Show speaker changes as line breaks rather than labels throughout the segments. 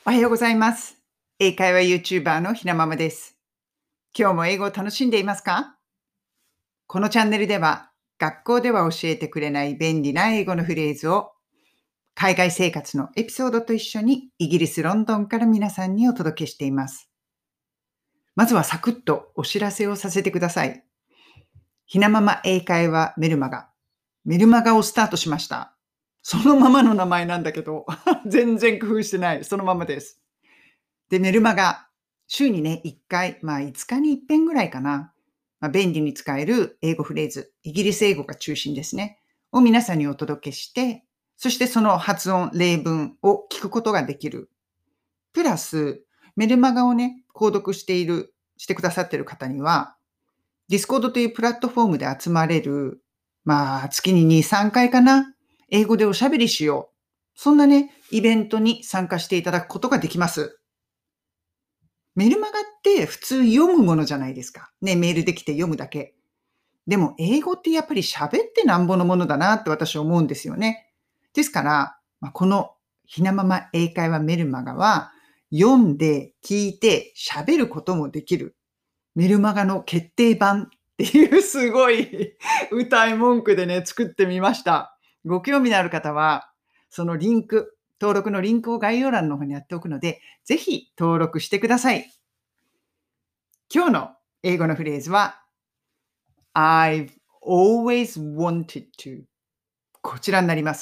おはようございます。英会話 YouTuber のひなままです。今日も英語を楽しんでいますか？このチャンネルでは、学校では教えてくれない便利な英語のフレーズを、海外生活のエピソードと一緒にイギリス・ロンドンから皆さんにお届けしています。まずはサクッとお知らせをさせてください。ひなまま英会話メルマガをスタートしました。そのままの名前なんだけど、全然工夫してない。そのままです。で、メルマガ、週にね、1回、5日に1遍ぐらいかな。便利に使える英語フレーズ、イギリス英語が中心ですね。を皆さんにお届けして、そしてその発音、例文を聞くことができる。プラス、メルマガをね、購読してくださっている方には、ディスコードというプラットフォームで集まれる、月に2、3回かな。英語でおしゃべりしよう。そんなね、イベントに参加していただくことができます。メルマガって普通読むものじゃないですか。ね、メールできて読むだけ。でも英語ってやっぱり喋ってなんぼのものだなって私は思うんですよね。ですから、このひなまま英会話メルマガは読んで聞いて喋ることもできる。メルマガの決定版っていうすごい歌い文句でね、作ってみました。ご興味のある方は、その登録のリンクを概要欄の方にやっておくので、ぜひ登録してください。今日の英語のフレーズは、I've always wanted to こちらになります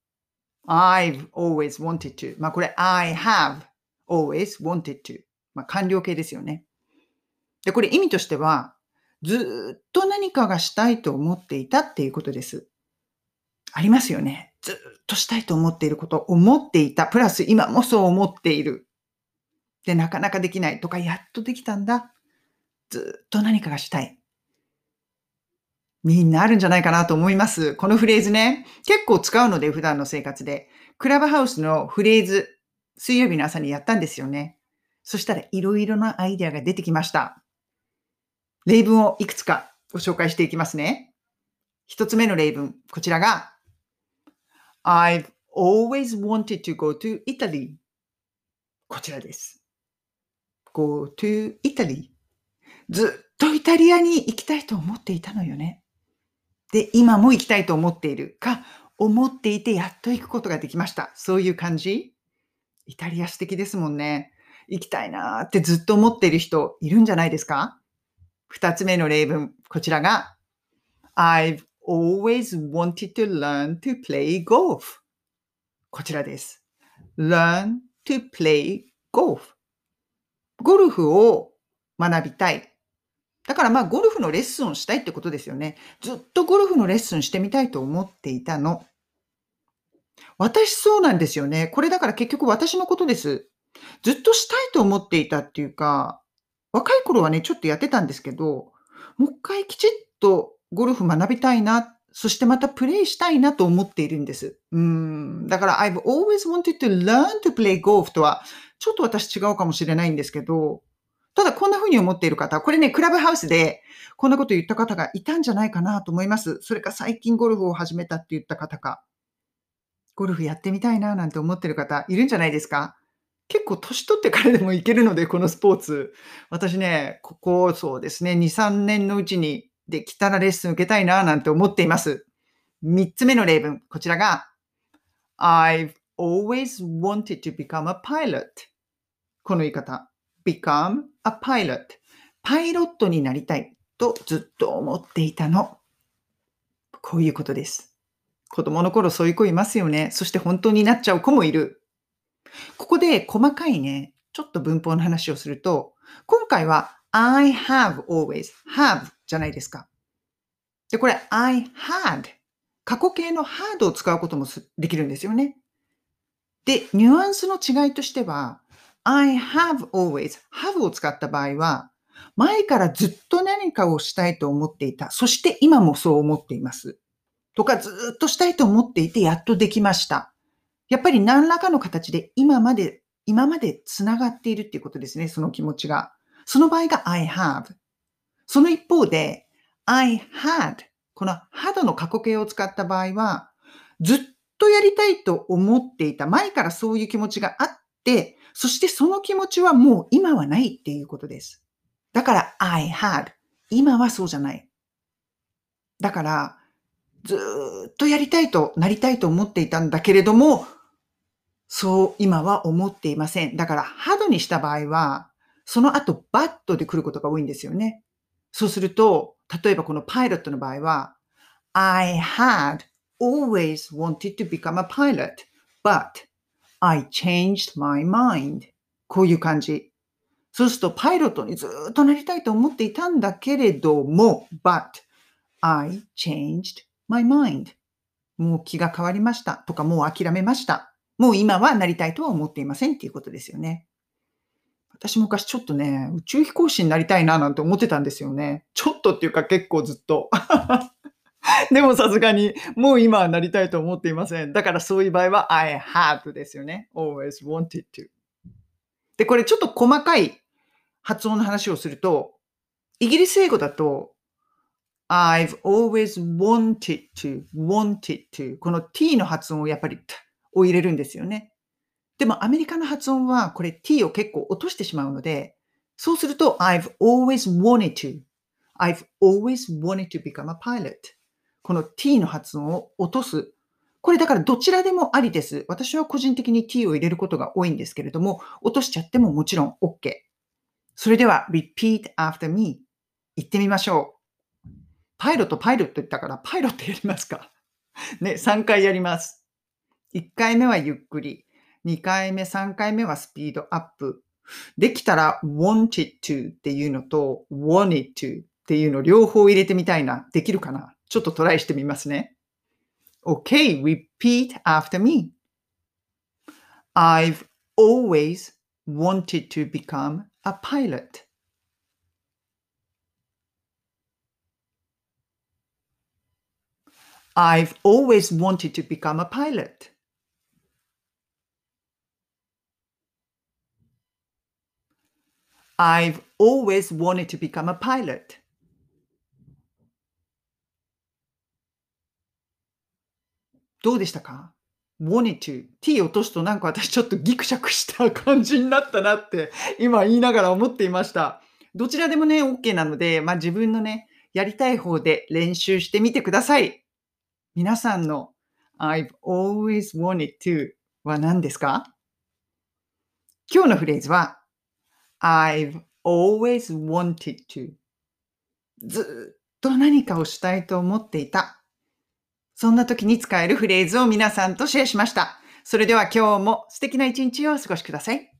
。I've always wanted to これ I have always wanted to 完了形ですよね。で、これ意味としては、ずっと何かがしたいと思っていたっていうことです。ありますよね。ずっとしたいと思っていること、思っていた、プラス今もそう思っている。で、なかなかできないとか、やっとできたんだ。ずっと何かがしたい。みんなあるんじゃないかなと思います。このフレーズね、結構使うので、普段の生活で。クラブハウスのフレーズ、水曜日の朝にやったんですよね。そしたらいろいろなアイデアが出てきました。例文をいくつかご紹介していきますね。一つ目の例文、こちらが I've always wanted to go to Italy こちらです。go to Italy ずっとイタリアに行きたいと思っていたのよね。で、今も行きたいと思っているか、思っていてやっと行くことができました。そういう感じ？イタリア素敵ですもんね。行きたいなーってずっと思っている人いるんじゃないですか？二つ目の例文、こちらが I've always wanted to learn to play golf こちらです。learn to play golf ゴルフを学びたい。だからゴルフのレッスンをしたいってことですよね。ずっとゴルフのレッスンしてみたいと思っていたの。私そうなんですよね。これだから結局私のことです。ずっとしたいと思っていたっていうか、若い頃はね、ちょっとやってたんですけど、もう一回きちっとゴルフ学びたいな、そしてまたプレイしたいなと思っているんです。だから I've always wanted to learn to play golf とは、ちょっと私違うかもしれないんですけど、ただこんな風に思っている方、これね、クラブハウスでこんなこと言った方がいたんじゃないかなと思います。それか最近ゴルフを始めたって言った方か。ゴルフやってみたいななんて思ってる方いるんじゃないですか？結構年取ってからでもいけるので、このスポーツ。私ね、ここそうですね、2、3年のうちにできたらレッスン受けたいななんて思っています。3つ目の例文、こちらが I've always wanted to become a pilot この言い方。become a pilot パイロットになりたいとずっと思っていたの。こういうことです。子供の頃そういう子いますよね。そして本当になっちゃう子もいる。ここで細かいね、ちょっと文法の話をすると、今回は I have always have じゃないですか。で、これ I had 過去形の had を使うこともできるんですよね。で、ニュアンスの違いとしては、I have always have を使った場合は、前からずっと何かをしたいと思っていた。そして今もそう思っています。とか、ずっとしたいと思っていて、やっとできました。やっぱり何らかの形で今まで繋がっているっていうことですね、その気持ちが。その場合が I have。その一方で I had。この had の過去形を使った場合は、ずっとやりたいと思っていた、前からそういう気持ちがあっで、そしてその気持ちはもう今はないっていうことです。だから I had。今はそうじゃない。だから、ずーっとやりたいとなりたいと思っていたんだけれども、そう今は思っていません。だから、ハドにした場合は、その後バットで来ることが多いんですよね。そうすると、例えばこのパイロットの場合は、I had always wanted to become a pilot, but I changed my mind. こういう感じ。そうすると、パイロットにずーっとなりたいと思っていたんだけれども、but I changed my mind. もう気が変わりましたとか、もう諦めました。もう今はなりたいとは思っていませんっていうことですよね。私昔ちょっとね、宇宙飛行士になりたいななんて思ってたんですよね。ちょっとっていうか結構ずっと。でもさすがに、もう今はなりたいと思っていません。だからそういう場合は I had ですよね。always wanted to。で、これちょっと細かい発音の話をすると、イギリス英語だと I've always wanted to。この t の発音をやっぱり t を入れるんですよね。でもアメリカの発音はこれ t を結構落としてしまうので、そうすると I've always wanted to。I've always wanted to become a pilot。この t の発音を落とす。これだからどちらでもありです。私は個人的に t を入れることが多いんですけれども、落としちゃってももちろん OK。それでは repeat after me。言ってみましょう。パイロット言ったからパイロットやりますか。ね、3回やります。1回目はゆっくり。2回目、3回目はスピードアップ。できたら wanted to っていうのと wanted to っていうの両方入れてみたいな。できるかな？ちょっとトライしてみますね。Okay, repeat after me. I've always wanted to become a pilot. I've always wanted to become a pilot. I've always wanted to become a pilot. どうでしたか？ wanted to t 落とすとなんか私ちょっとギクシャクした感じになったなって今言いながら思っていました。どちらでもね、OK なので、自分のね、やりたい方で練習してみてください。皆さんの I've always wanted to は何ですか？今日のフレーズは I've always wanted to。ずっと何かをしたいと思っていた。そんな時に使えるフレーズを皆さんとシェアしました。それでは今日も素敵な一日をお過ごしください。